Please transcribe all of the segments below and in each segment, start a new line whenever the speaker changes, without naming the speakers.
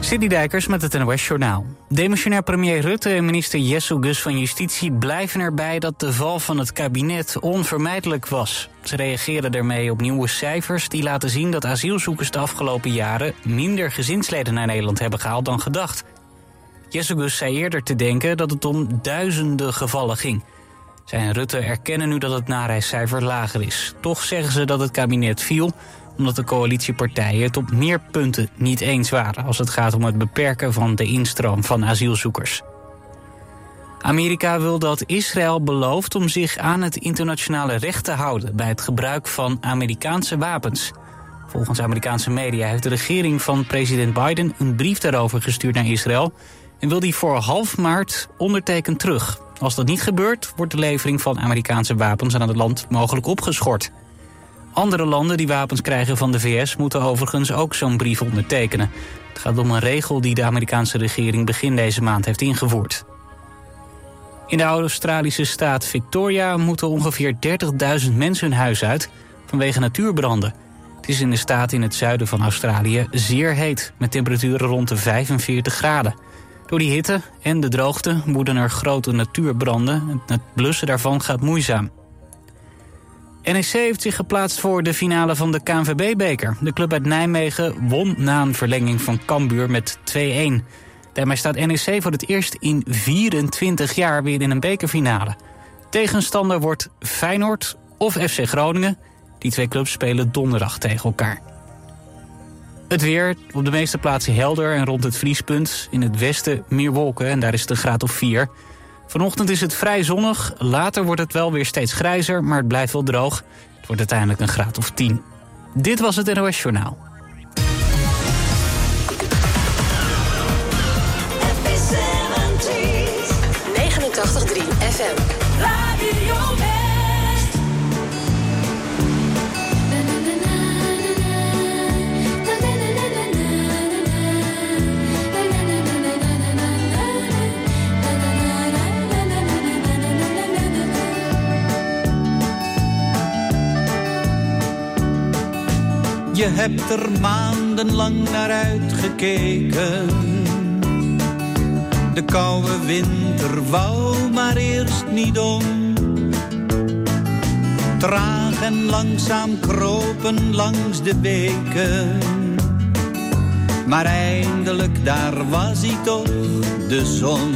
Sidney Dijkers met het NOS Journaal. Demissionair premier Rutte en minister Jesselgus van Justitie blijven erbij dat de val van het kabinet onvermijdelijk was. Ze reageren daarmee op nieuwe cijfers die laten zien dat asielzoekers de afgelopen jaren minder gezinsleden naar Nederland hebben gehaald dan gedacht. Jesselgus zei eerder te denken dat het om duizenden gevallen ging. Zij en Rutte erkennen nu dat het nareiscijfer lager is. Toch zeggen ze dat het kabinet viel omdat de coalitiepartijen het op meer punten niet eens waren als het gaat om het beperken van de instroom van asielzoekers. Amerika wil dat Israël belooft om zich aan het internationale recht te houden bij het gebruik van Amerikaanse wapens. Volgens Amerikaanse media heeft de regering van president Biden een brief daarover gestuurd naar Israël en wil die voor half maart ondertekend terug. Als dat niet gebeurt, wordt de levering van Amerikaanse wapens aan het land mogelijk opgeschort. Andere landen die wapens krijgen van de VS moeten overigens ook zo'n brief ondertekenen. Het gaat om een regel die de Amerikaanse regering begin deze maand heeft ingevoerd. In de Australische staat Victoria moeten ongeveer 30.000 mensen hun huis uit vanwege natuurbranden. Het is in de staat in het zuiden van Australië zeer heet, met temperaturen rond de 45 graden. Door die hitte en de droogte woeden er grote natuurbranden. Het blussen daarvan gaat moeizaam. NEC heeft zich geplaatst voor de finale van de KNVB-beker. De club uit Nijmegen won na een verlenging van Cambuur met 2-1. Daarmee staat NEC voor het eerst in 24 jaar weer in een bekerfinale. Tegenstander wordt Feyenoord of FC Groningen. Die twee clubs spelen donderdag tegen elkaar. Het weer, op de meeste plaatsen helder en rond het vriespunt. In het westen meer wolken en daar is het een graad of 4. Vanochtend is het vrij zonnig, later wordt het wel weer steeds grijzer, maar het blijft wel droog. Het wordt uiteindelijk een graad of 10. Dit was het NOS Journaal.
FM 89.3 FM. Radio West.
Je hebt er maandenlang naar uitgekeken. De koude winter wou maar eerst niet om. Traag en langzaam kropen langs de beken. Maar eindelijk daar was hij toch, de zon.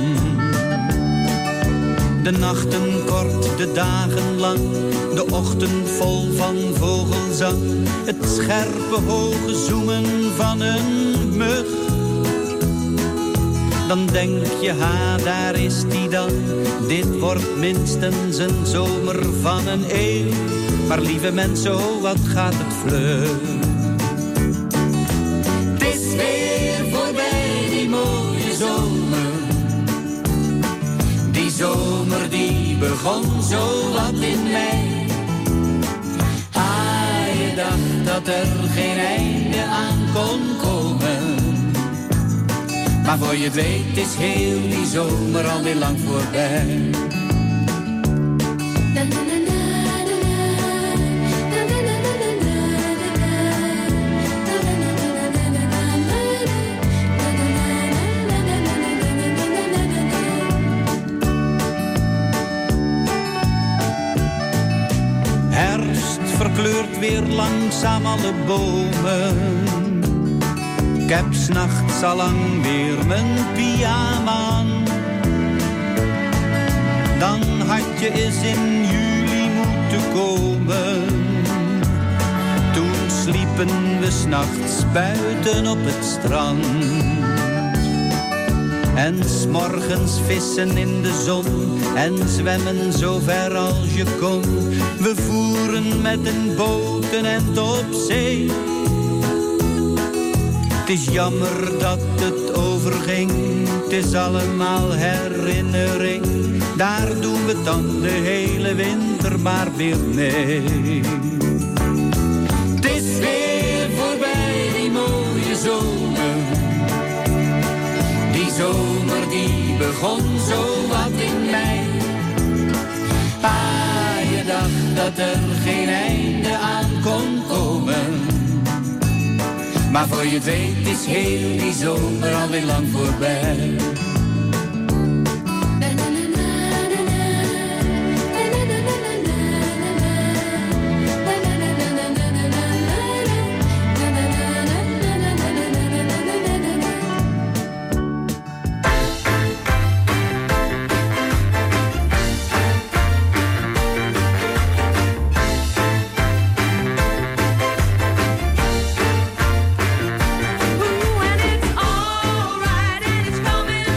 De nachten kort, de dagen lang, de ochtend vol van vogelzang. Het scherpe hoge zoemen van een mug. Dan denk je, ha, daar is die dan. Dit wordt minstens een zomer van een eeuw. Maar lieve mensen, oh, wat gaat het vlug. Het is weer voorbij, die mooie zomer. Die zomer die begon zo wat in mei. Ah, je dacht dat er geen einde aan kon komen. Maar voor je het weet is heel die zomer alweer lang voorbij. Verkleurt weer langzaam alle bomen. Ik heb 's nachts al lang weer mijn pyjama aan. Dan had je eens in juli moeten komen. Toen sliepen we 's nachts buiten op het strand. En 's morgens vissen in de zon en zwemmen zo ver als je kon. We voeren met een boot een end op zee. Het is jammer dat het overging, het is allemaal herinnering. Daar doen we dan de hele winter maar weer mee. Het is weer voorbij, die mooie zomer. Die zomer die begon zo wat in mei. Ah, je dacht dat er geen einde aan kon komen. Maar voor je het weet is heel die zomer alweer lang voorbij.
Ooh, and it's alright and it's coming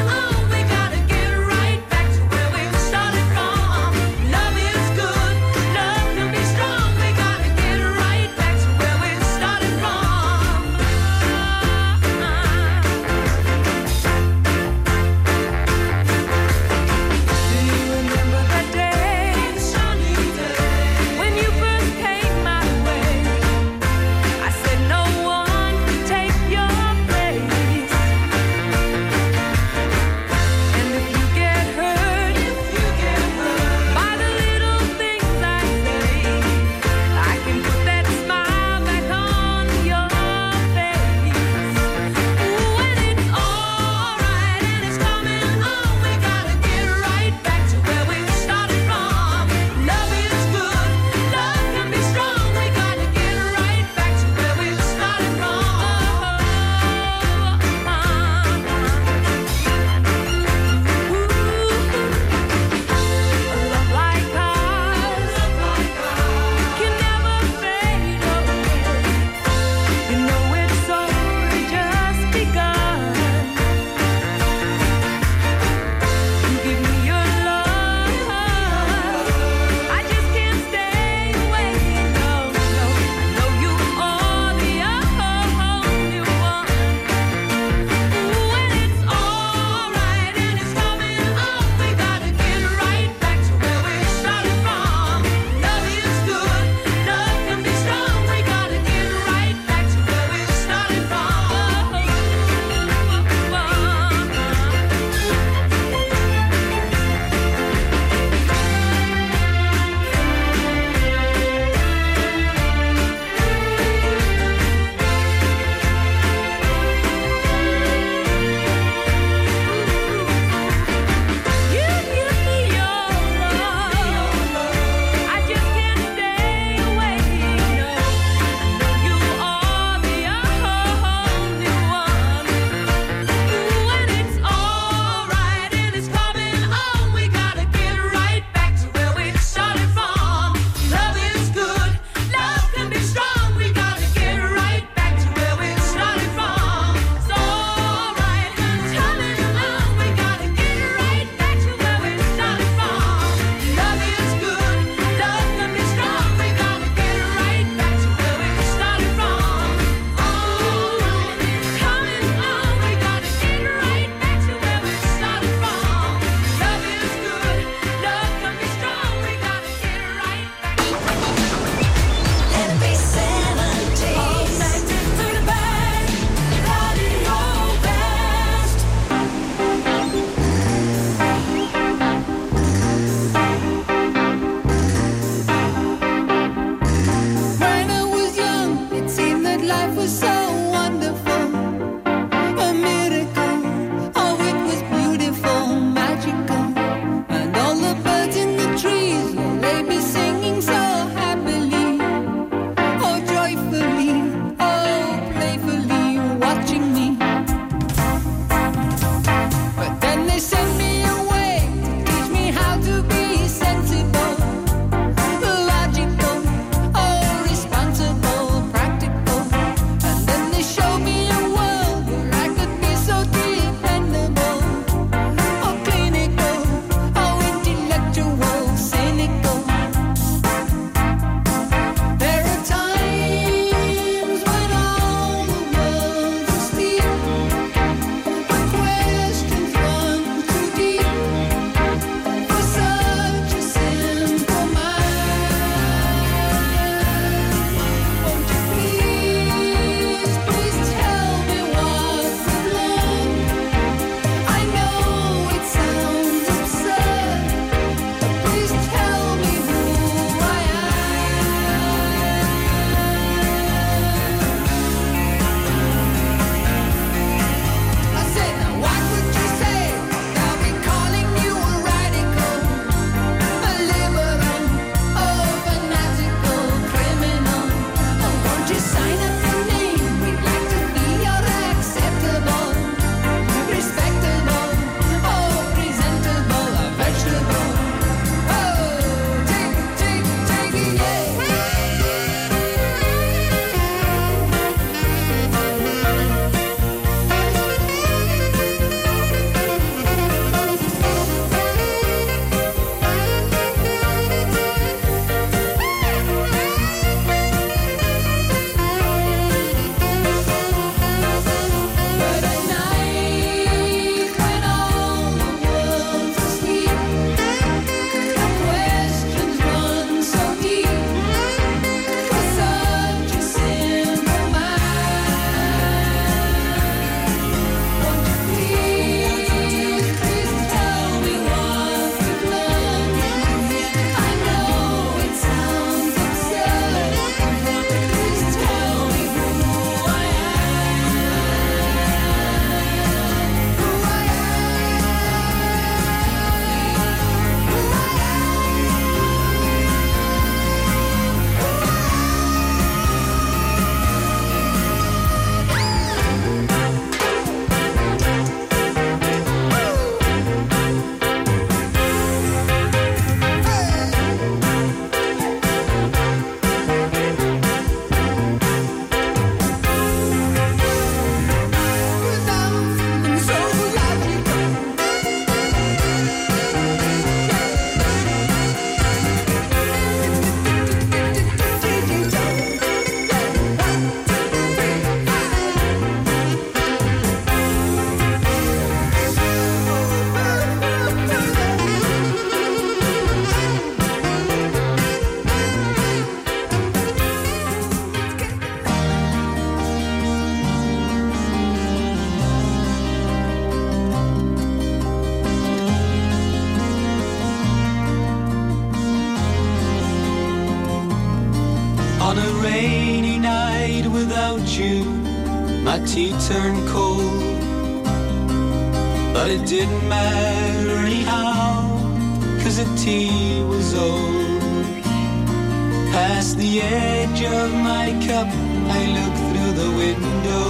you, my tea turned cold. But it didn't matter anyhow, 'cause the tea was old. Past the edge of my cup, I look through the window.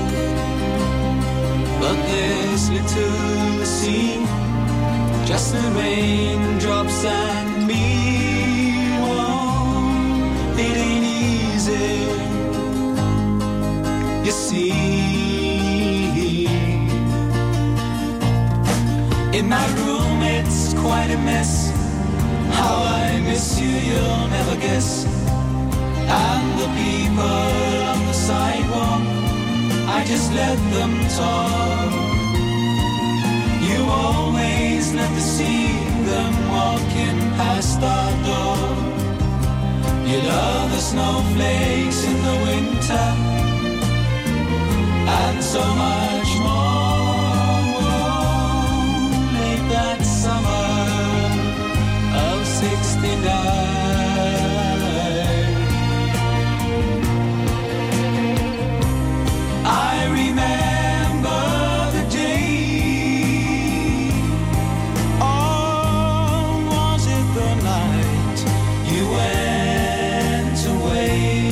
But there's little to see, just the raindrops and me. Oh, it ain't easy, you see. In my room it's quite a mess. How I miss you, you'll never guess. And the people on the sidewalk, I just let them talk. You always let to see them walking past our door. You love the snowflakes in the winter, and so much more. Late that summer of 69. I remember the day, or was it the night you went away?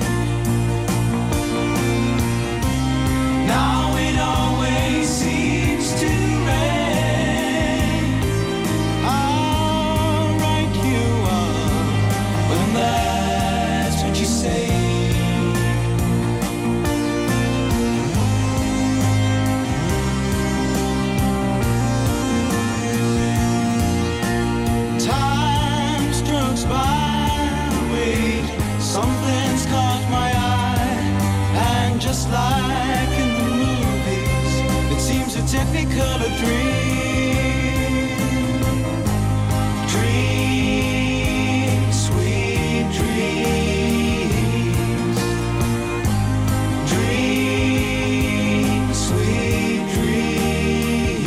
Now it always seems to rain. How right you are when that's what you say. Something's caught my eye, and just like in the movies, it seems a technicolor dream. Dream, sweet dreams. Dream, sweet dreams.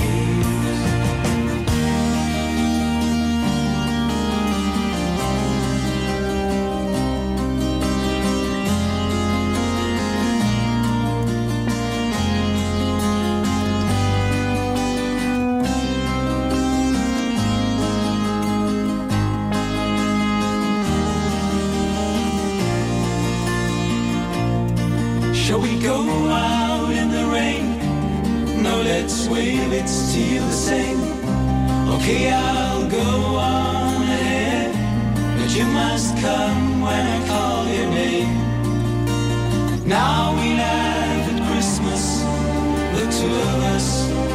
Shall we go out in the rain? No, let's wait, it's still the same. Okay, I'll go on ahead, but you must come when I call your name. Now we laugh at Christmas, the two of us.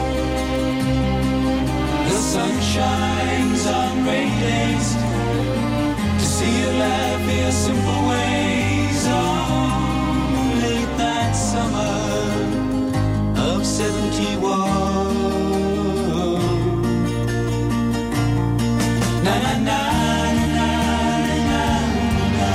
The sun shines on rain days to see you laugh your simple ways. Oh, that summer of 71. Na na na na na na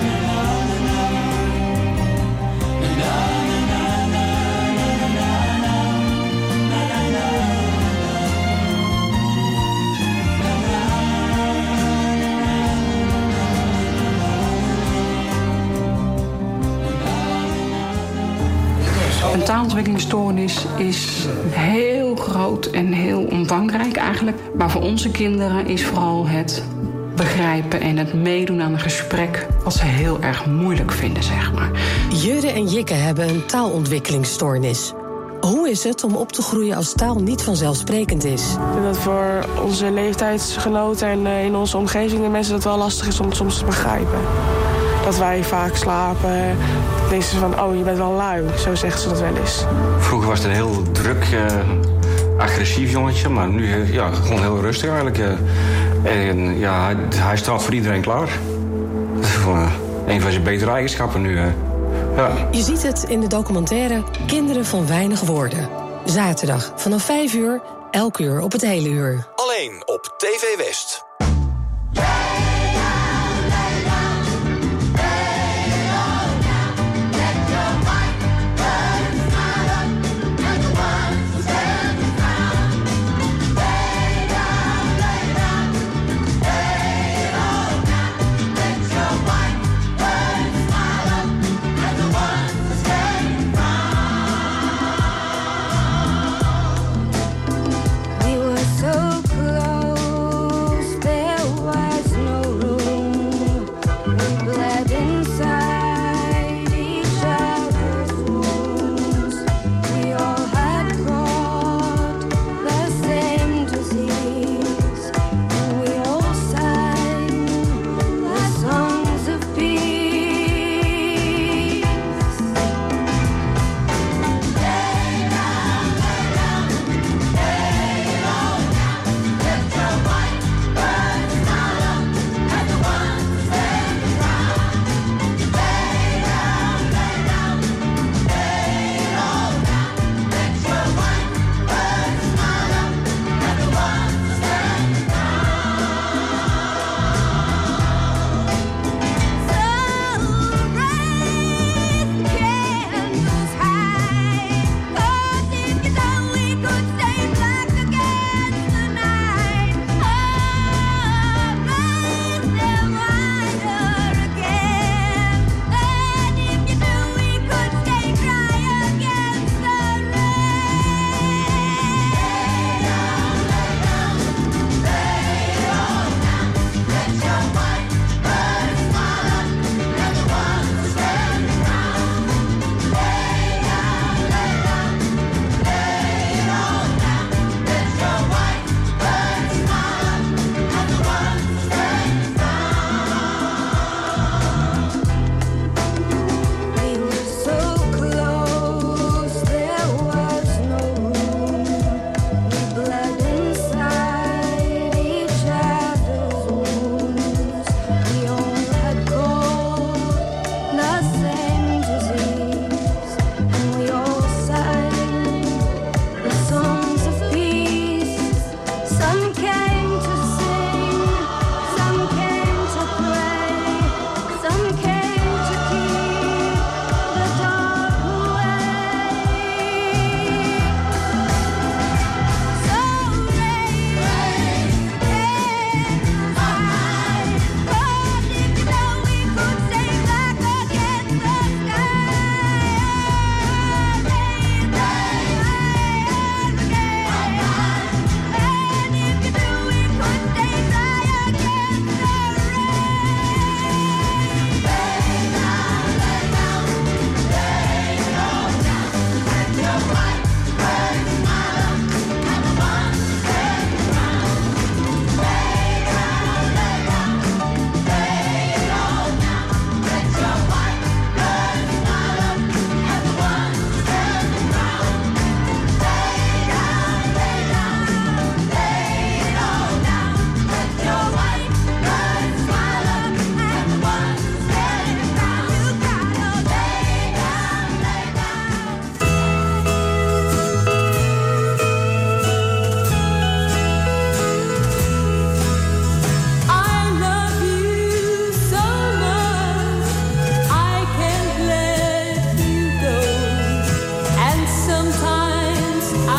Een taalontwikkelingsstoornis is heel groot en heel omvangrijk eigenlijk. Maar voor onze kinderen is vooral het begrijpen en het meedoen aan een gesprek wat ze heel erg moeilijk vinden, zeg maar.
Jurre en Jikke hebben een taalontwikkelingsstoornis. Hoe is het om op te groeien als taal niet vanzelfsprekend is?
Ik denk dat voor onze leeftijdsgenoten en in onze omgeving de mensen het wel lastig is om het soms te begrijpen. Dat wij vaak slapen. Denken ze van, oh, je bent wel lui. Zo zeggen ze dat wel eens.
Vroeger was het een heel druk, agressief jongetje. Maar nu gewoon heel rustig eigenlijk. En ja, hij staat voor iedereen klaar. Dat is gewoon een van zijn betere eigenschappen nu. Ja.
Je ziet het in de documentaire Kinderen van Weinig Woorden. Zaterdag vanaf 5 uur, elk uur op het hele uur.
Alleen op TV West.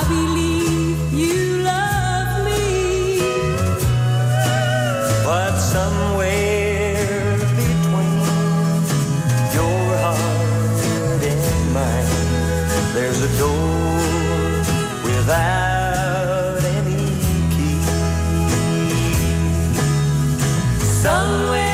believe you love me, but somewhere between your heart and mine, there's a door without any key. Somewhere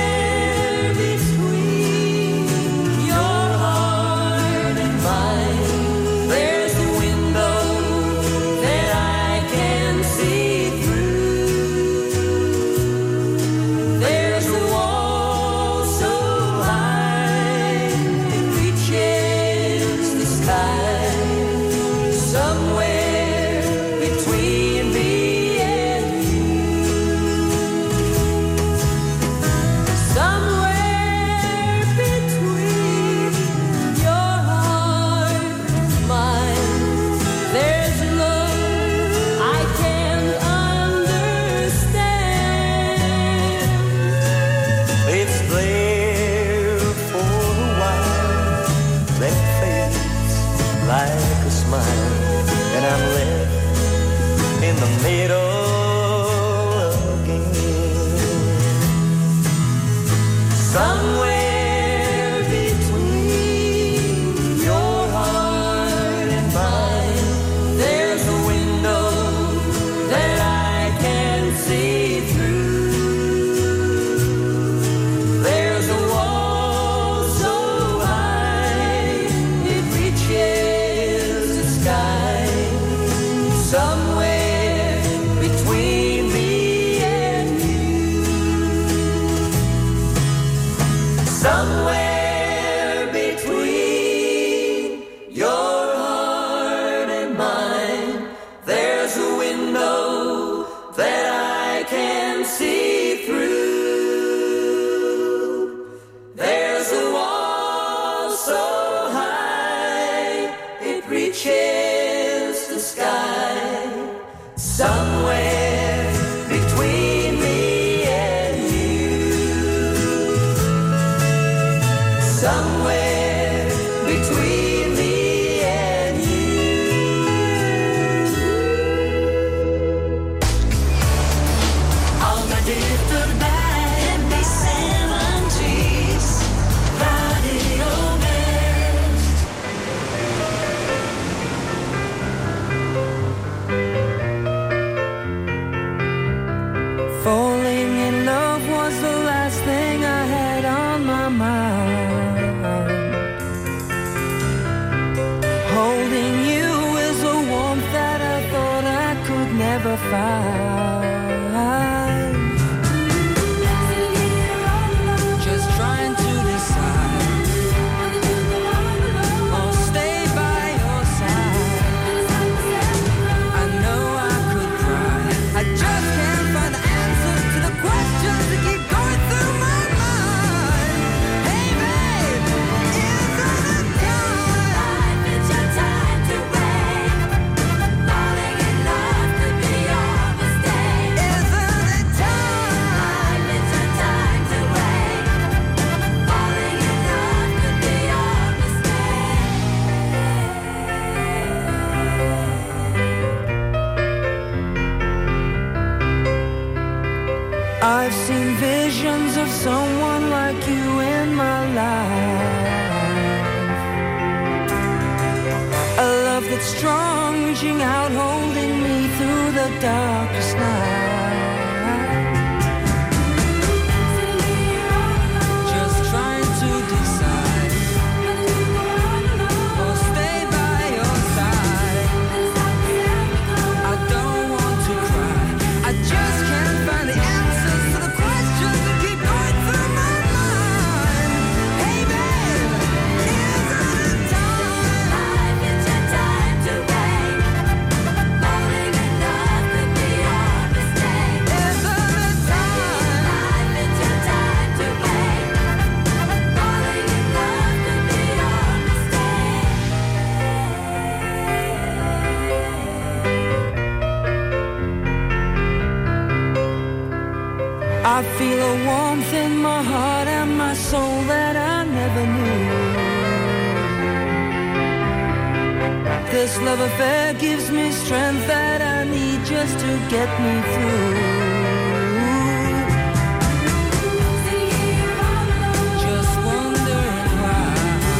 I've seen visions of someone like you in my life. A love that's strong, reaching out, holding me through the darkest night. Just trying to decide, or stay by your side. I don't want to cry, I just can't find the answers to the questions that keep going through my mind. Hey babe, isn't it time? Life is your time to wait. Falling in love could be your mistake. Isn't it time? Life is your time to wait. Falling in love could be your mistake. I feel a warmth in my heart and my soul that I never knew. This love affair gives me strength that I need just to get me through. Just wondering why.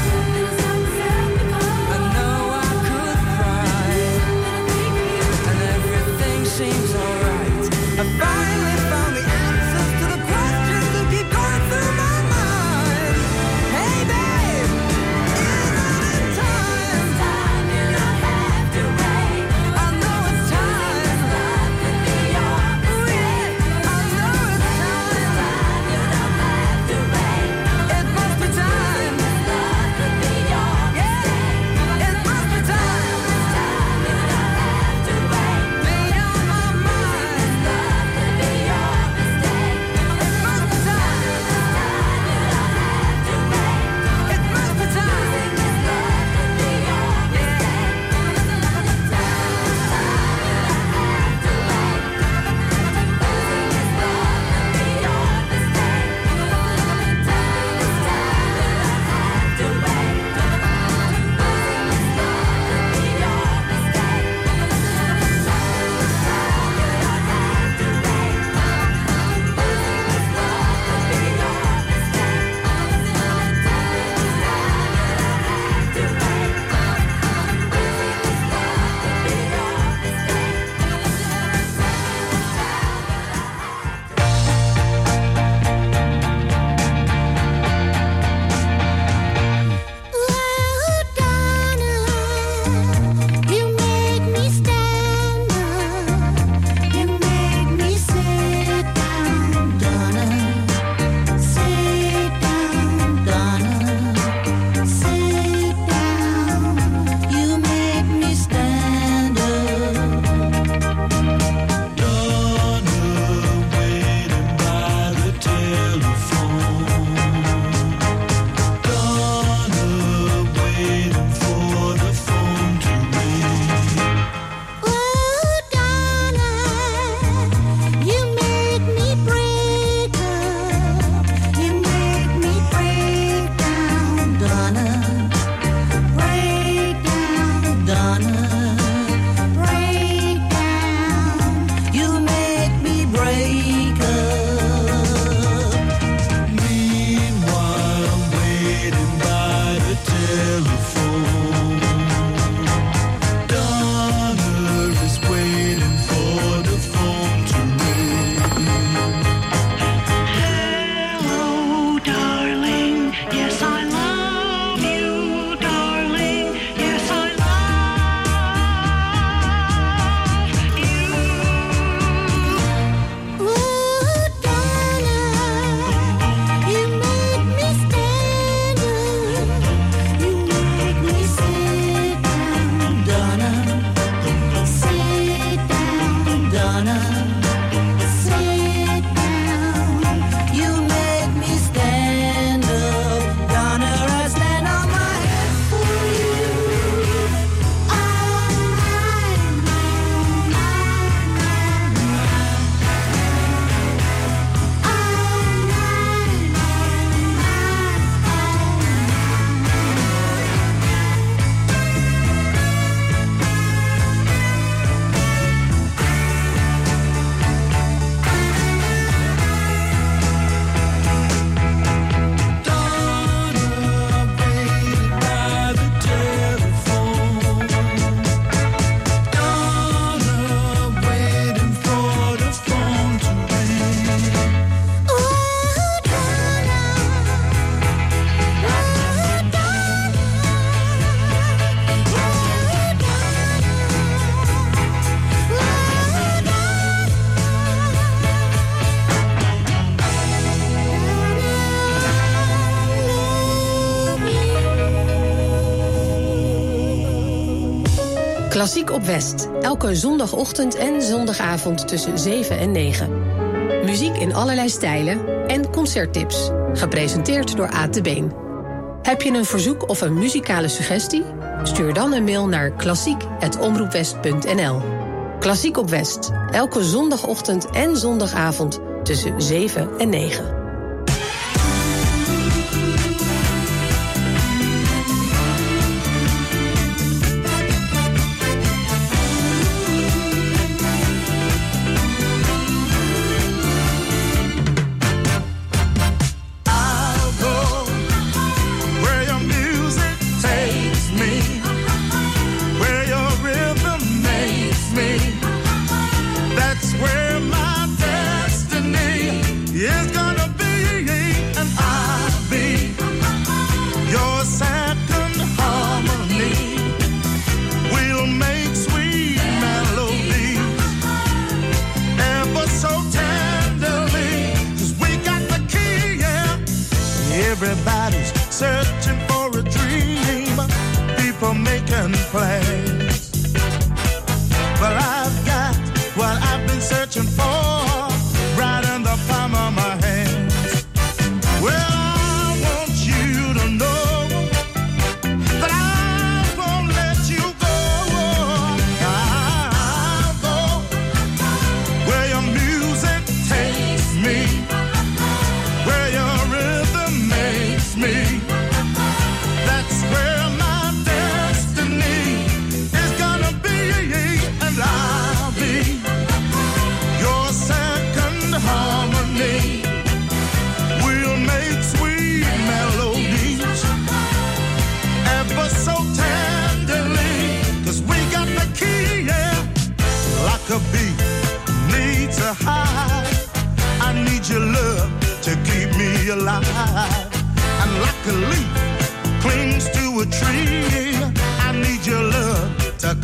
I know I could cry, and everything seems alright. I finally found the answers to the questions that keep going through my mind. Hey babe, isn't it time? You don't have to wait. I know it's time. Love could be your mistake. I know it's time. You don't have to wait. It must be time. Love could be your mistake. It must be time. You don't have to wait. Me on my mind. Love could be your mistake. It must be time. You don't have to wait. It must be time. Love could be your
Klassiek op West. Elke zondagochtend en zondagavond tussen 7 en 9. Muziek in allerlei stijlen en concerttips. Gepresenteerd door Aad de Been. Heb je een verzoek of een muzikale suggestie? Stuur dan een mail naar klassiek@omroepwest.nl. Klassiek op West. Elke zondagochtend en zondagavond tussen 7 en 9.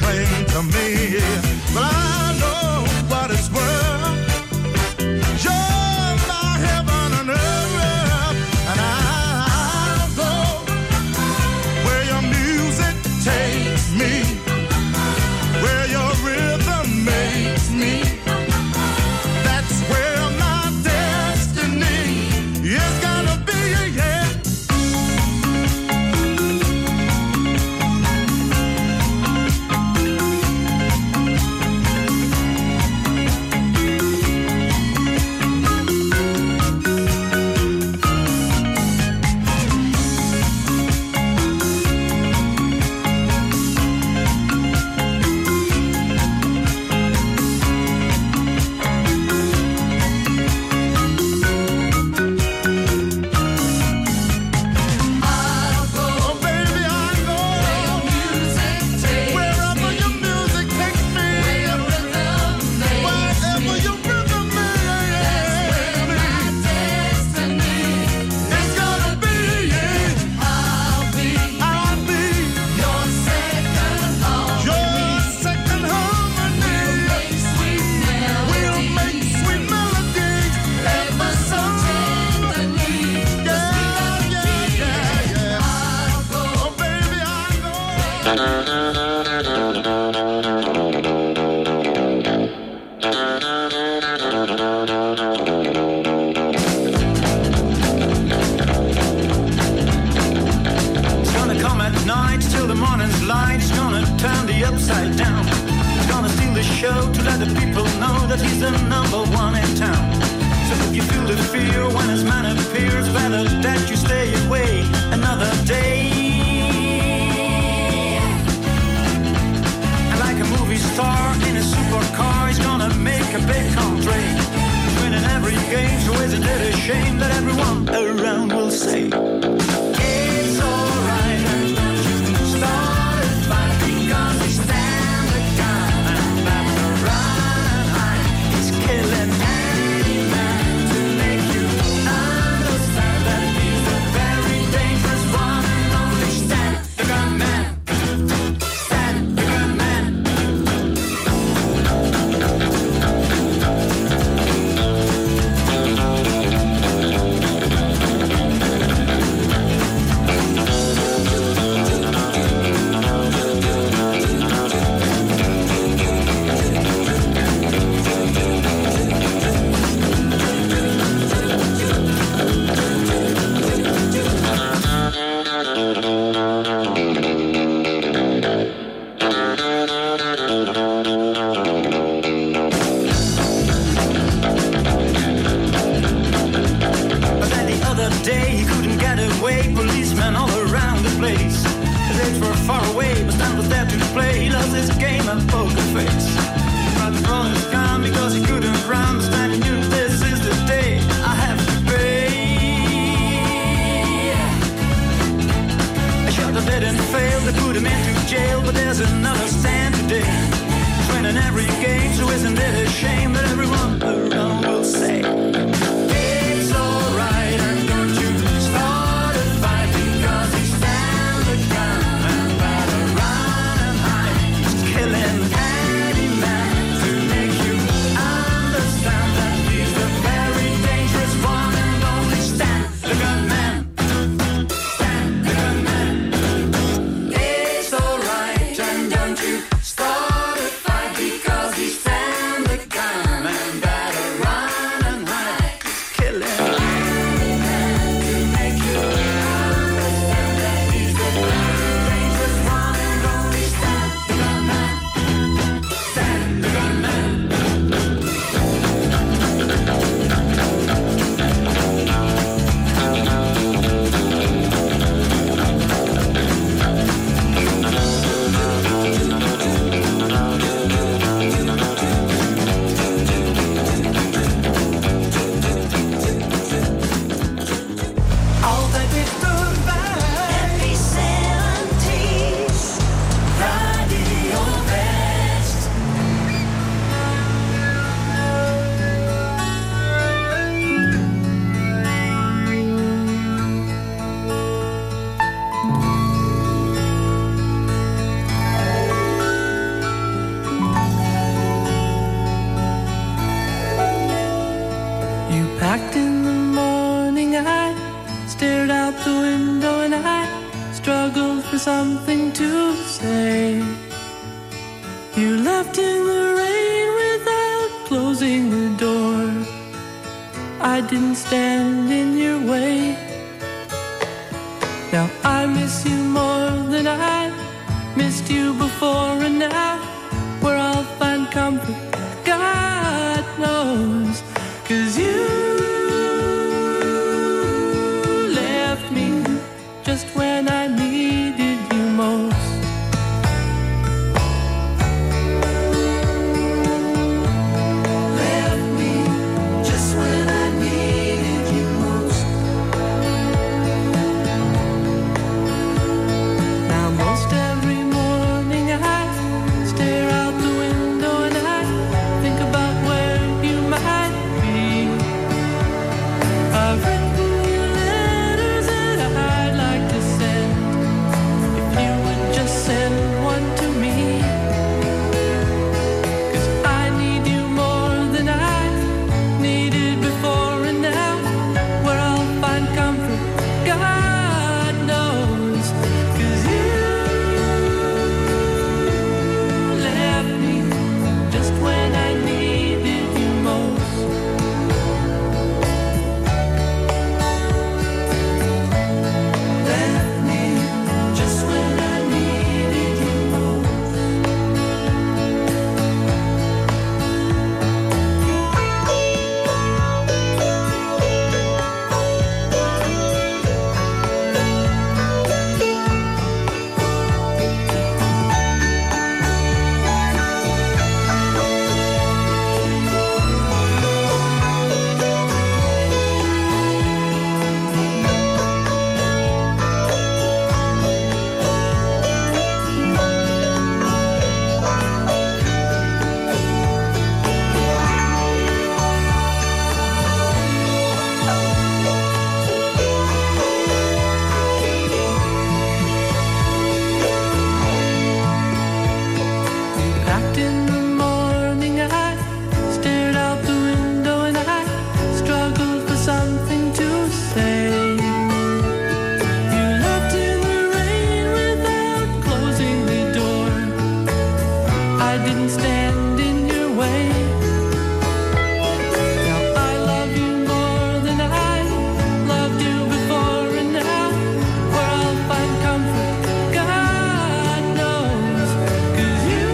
plain to me. But I know what it's worth. You're my heaven and earth, and I'll go where your music takes me, where your rhythm makes me. That's where my destiny is gonna be, yeah.
something to say. You left in the rain without closing the door. I didn't stand in your way. Now I miss you more than I missed you before, and now where I'll find comfort, God knows. 'Cause you left me just when I needed you most. Left me just when I needed you most. Now most every morning I stare out the window and I think about where you might be. I've written you letters that I'd like to send. If you would just send one to me. 'Cause I need you more than I needed before, and now where I'll find comfort, God knows. 'Cause you left me just when I needed you most. Left me just when I needed you most. Back in the morning I stared out the window and I struggled for something to say. You left in the rain without closing the door. I didn't stand in your way. Now I love you more than I loved you before, and now where I'll find comfort, God knows. 'Cause you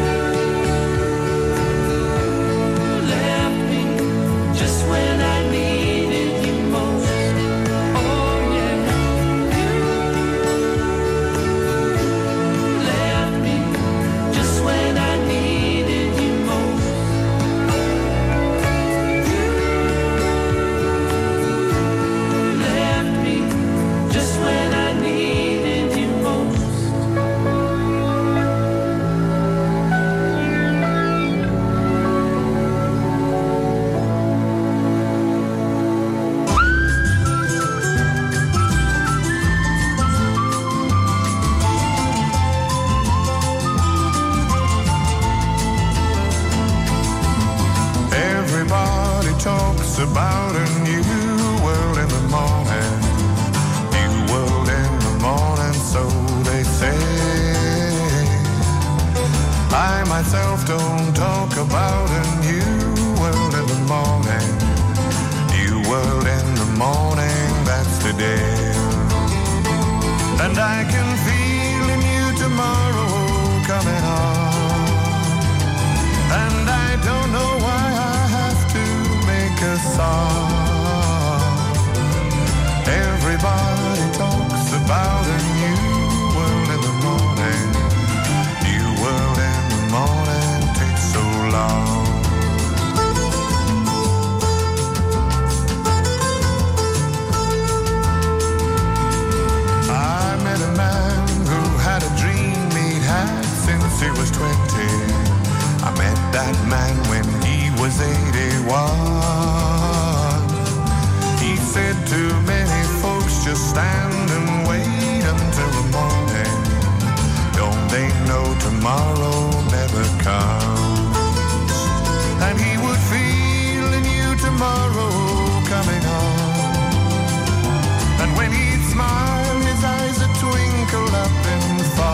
left me just when I needed you most. Oh yeah, you left me just when I needed you most. You left me just when I needed you most.
Everybody talks about a new world in the morning. New world in the morning, so they say. I myself don't talk about a new world in the morning. New world in the morning, that's today. And I can feel a new tomorrow coming on. And I don't know why I have to make a song. Everybody talks about a new world in the morning. New world in the morning takes so long. I met a man who had a dream he'd had since he was 20. I met that man when he was 81. He said to many folks, just stand and wait until the morning. Don't they know tomorrow never comes? And he would feel a new tomorrow coming on. And when he'd smile, his eyes would twinkle up in the fog.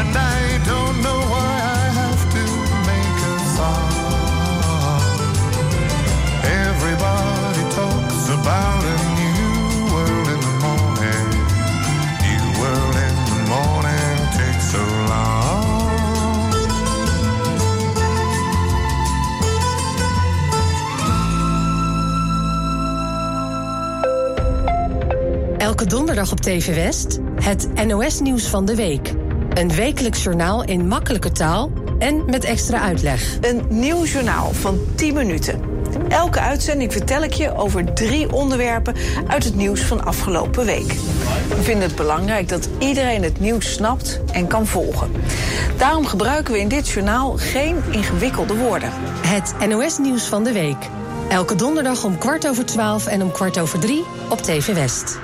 and I don't know why I have to make a song. Everybody talks about a new world in the morning. New world in the morning takes so long.
Elke donderdag op TV West het NOS-nieuws van de week. Een wekelijks journaal in makkelijke taal en met extra uitleg.
Een nieuw journaal van 10 minuten. Elke uitzending vertel ik je over 3 onderwerpen uit het nieuws van afgelopen week. We vinden het belangrijk dat iedereen het nieuws snapt en kan volgen. Daarom gebruiken we in dit journaal geen ingewikkelde woorden.
Het NOS-nieuws van de week. Elke donderdag om 12:15 en om 14:15 op TV West.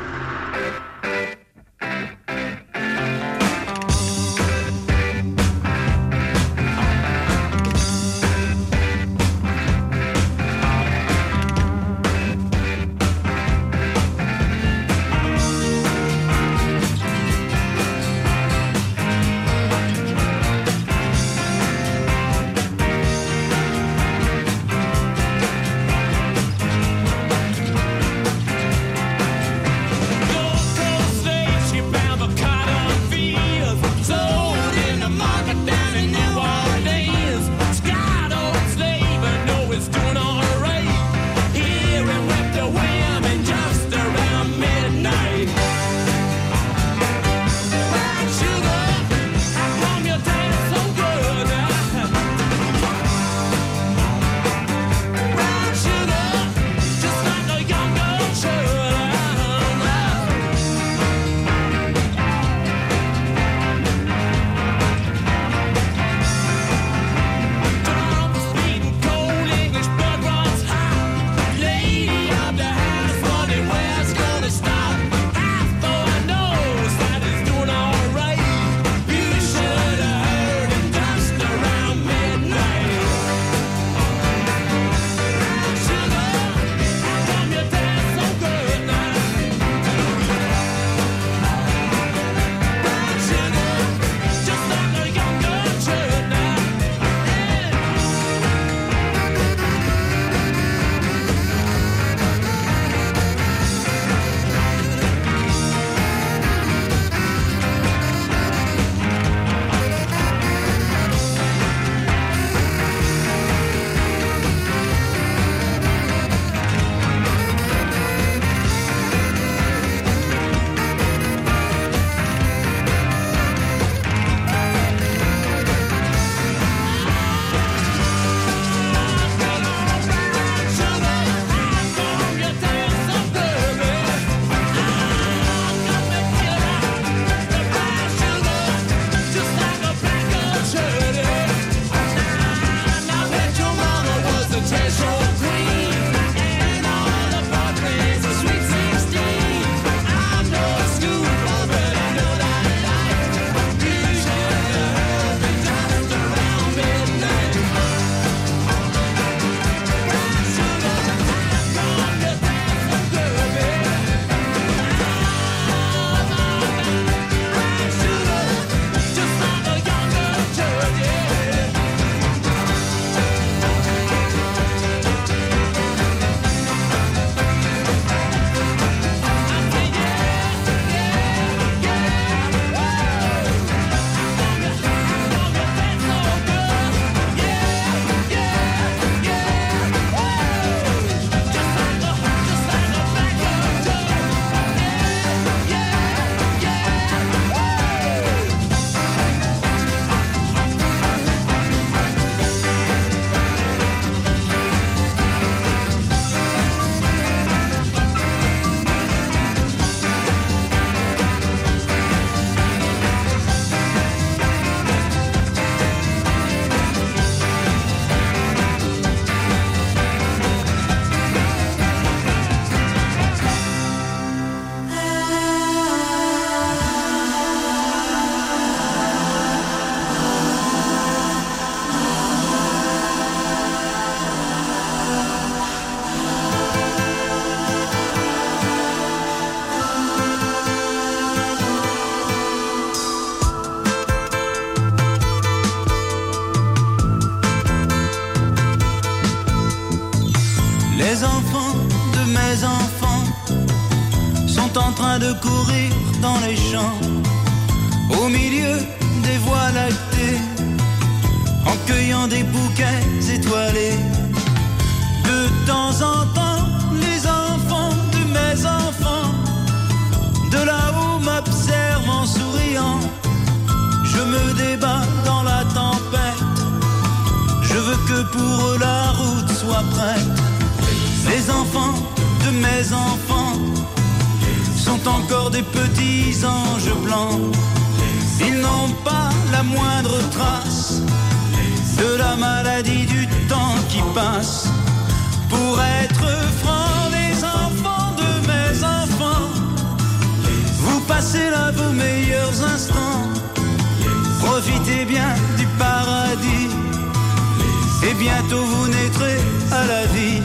train de courir dans les champs, au milieu des voies lactées, en cueillant des bouquets étoilés. De temps en temps, les enfants de mes enfants, de là-haut m'observent en souriant. Je me débat dans la tempête, je veux que pour eux la route soit prête. Les enfants de mes enfants sont encore des petits anges blancs. Ils n'ont pas la moindre trace de la maladie du temps qui passe. Pour être franc, les enfants de mes enfants, vous passez là vos meilleurs instants. Profitez bien du paradis, et bientôt vous naîtrez à la vie.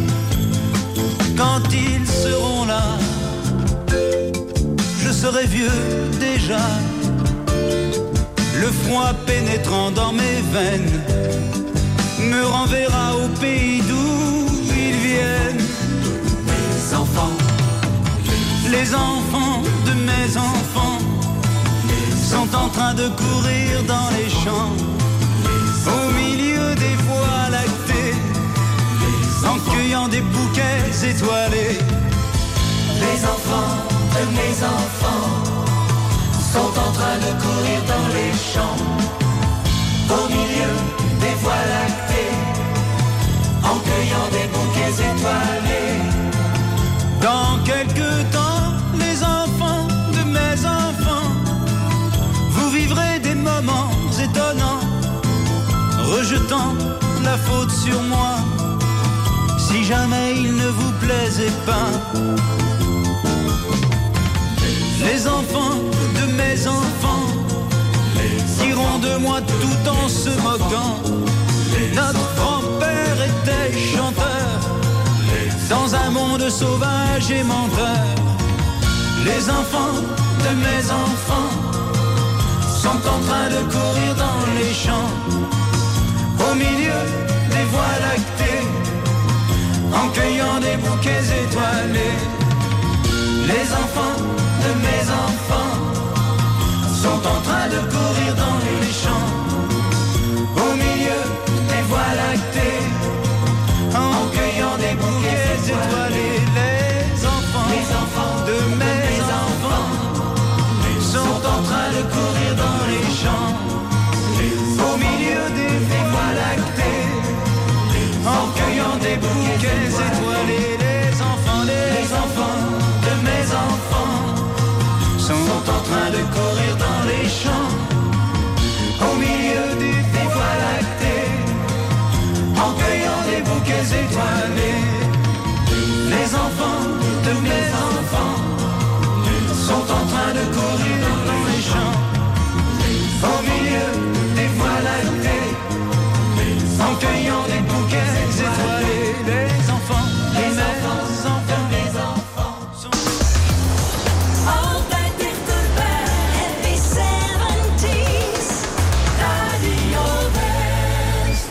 Quand ils seront là, je serai vieux déjà, le froid pénétrant dans mes veines me renverra au pays d'où ils viennent. Les enfants de mes enfants sont en train de courir dans les champs, au milieu des voies lactées, en cueillant des bouquets étoilés.
Les enfants de mes enfants sont en train de courir dans les champs, au milieu des voies lactées, en cueillant des bouquets étoilés.
Dans quelque temps, les enfants de mes enfants, vous vivrez des moments étonnants, rejetant la faute sur moi, si jamais il ne vous plaisait pas. Les enfants de mes enfants diront de moi tout en se moquant. Notre grand-père était chanteur dans un monde sauvage et menteur. Les enfants de mes enfants sont en train de courir dans les champs, au milieu des voies lactées, en cueillant des bouquets étoilés. Les enfants de mes enfants sont en train de courir dans les champs, au milieu des voies lactées, en cueillant des bouquets étoilés. Les enfants de mes enfants sont en train de courir dans les champs, au milieu des voies lactées, en cueillant des bouquets étoilés. Les enfants de mes enfants sont en train de courir dans les champs, au milieu des voies lactées, en cueillant des bouquets étoilés. Les enfants de mes enfants sont en train de courir dans les champs, au milieu des voies lactées, en cueillant des bouquets étoilés. Les enfants de mes enfants sont...
Altijd dichterbij, happy 70s, Radio West.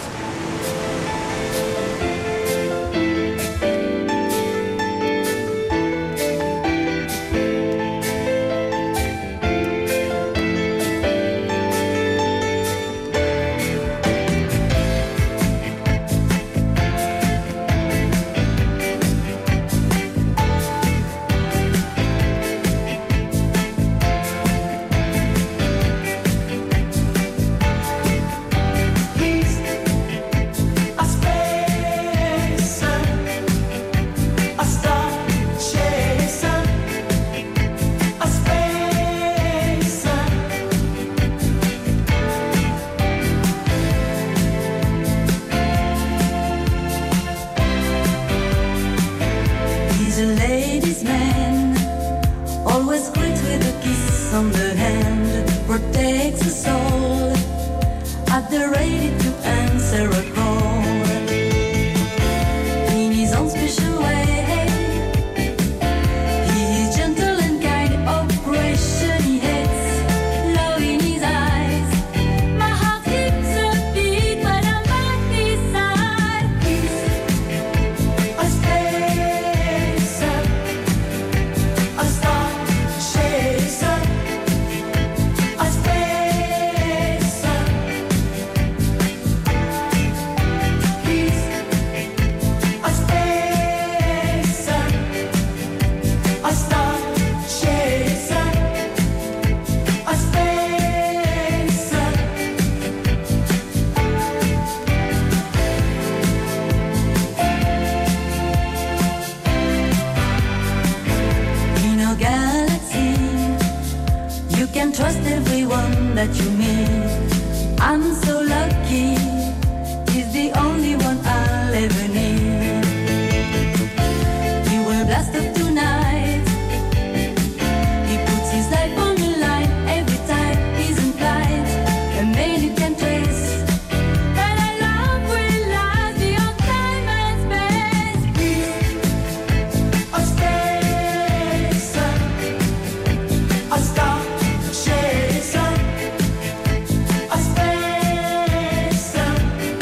I'm so lucky. He's the only one I'll ever need. We will blast up tonight. He puts his life on the line every time he's in flight. And many can trace that our love will last beyond time and space. He's a spacer, a star chaser, a spacer.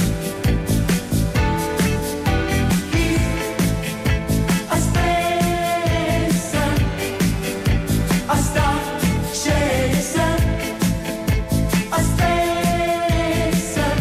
He's a spacer, a star chaser, a spacer.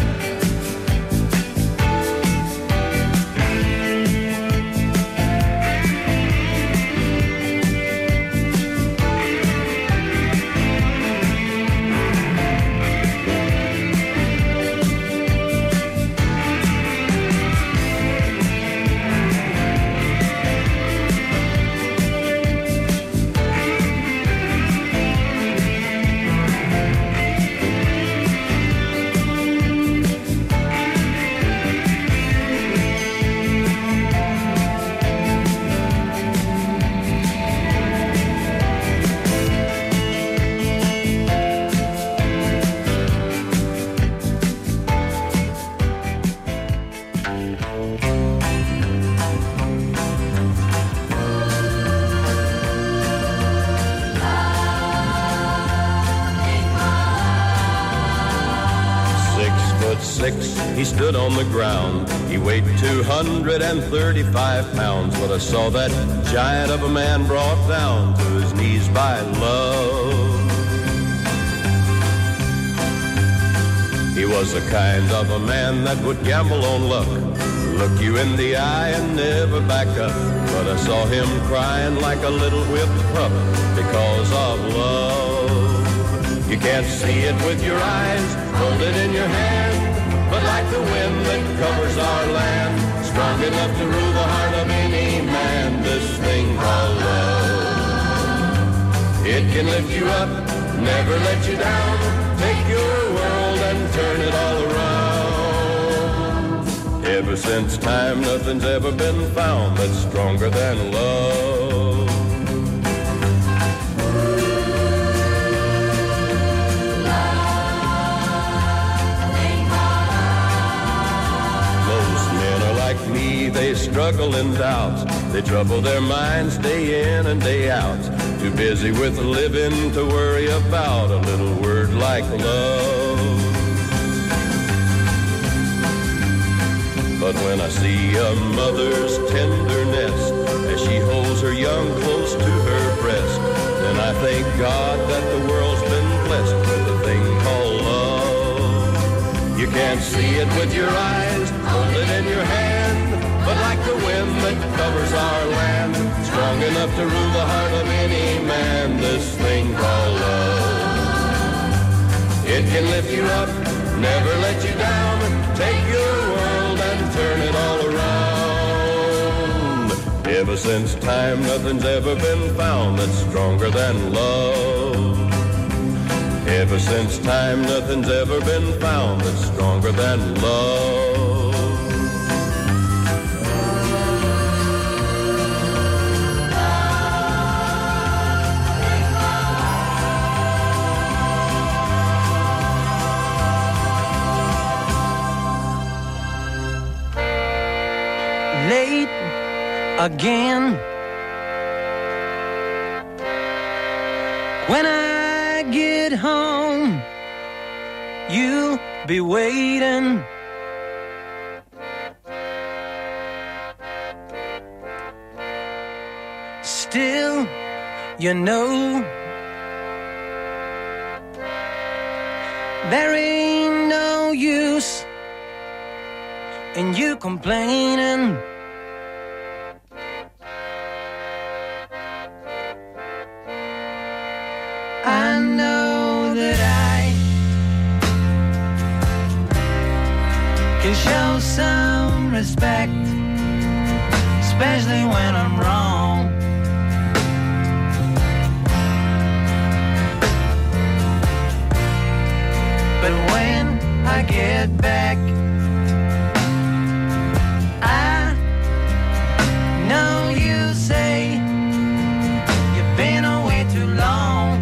He stood on the ground. He weighed 235 pounds. But I saw that giant of a man brought down to his knees by love. He was the kind of a man that would gamble on luck, look you in the eye and never back up. But I saw him crying like a little whipped pup because of love. You can't see it with your eyes, hold it in your hand. But like the wind that covers our land, strong enough to rule the heart of any man, this thing called love. It can lift you up, never let you down, take your world and turn it all around. Ever since time, nothing's ever been found that's stronger than love. They struggle in doubt. They trouble their minds day in and day out. Too busy with living to worry about a little word like love. But when I see a mother's tenderness as she holds her young close to her breast, then I thank God that the world's been blessed with a thing called love. You can't see it with your eyes, hold it in your hand. But like the wind that covers our land, strong enough to rule the heart of any man, this thing called love. It can lift you up, never let you down, take your world and turn it all around. Ever since time, nothing's ever been found that's stronger than love. Ever since time, nothing's ever been found that's stronger than love.
Late again. When I get home, you'll be waiting. Still, you know, there ain't no use in you complaining. I know that I can show some respect, especially when I'm wrong. But when I get back. I know you say you've been away too long.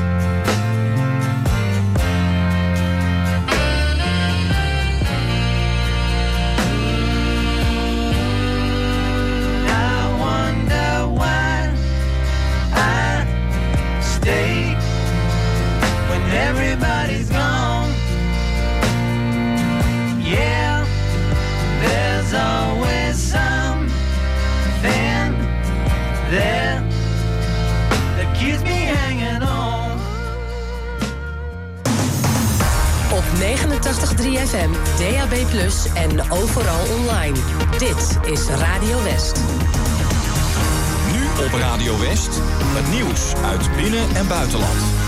I wonder why I stay when everybody's gone. Yeah, there's always something there that keeps me hanging on.
Op 89.3 FM, DAB+ en overal online. Dit is Radio West.
Nu op Radio West, het nieuws uit binnen- en buitenland.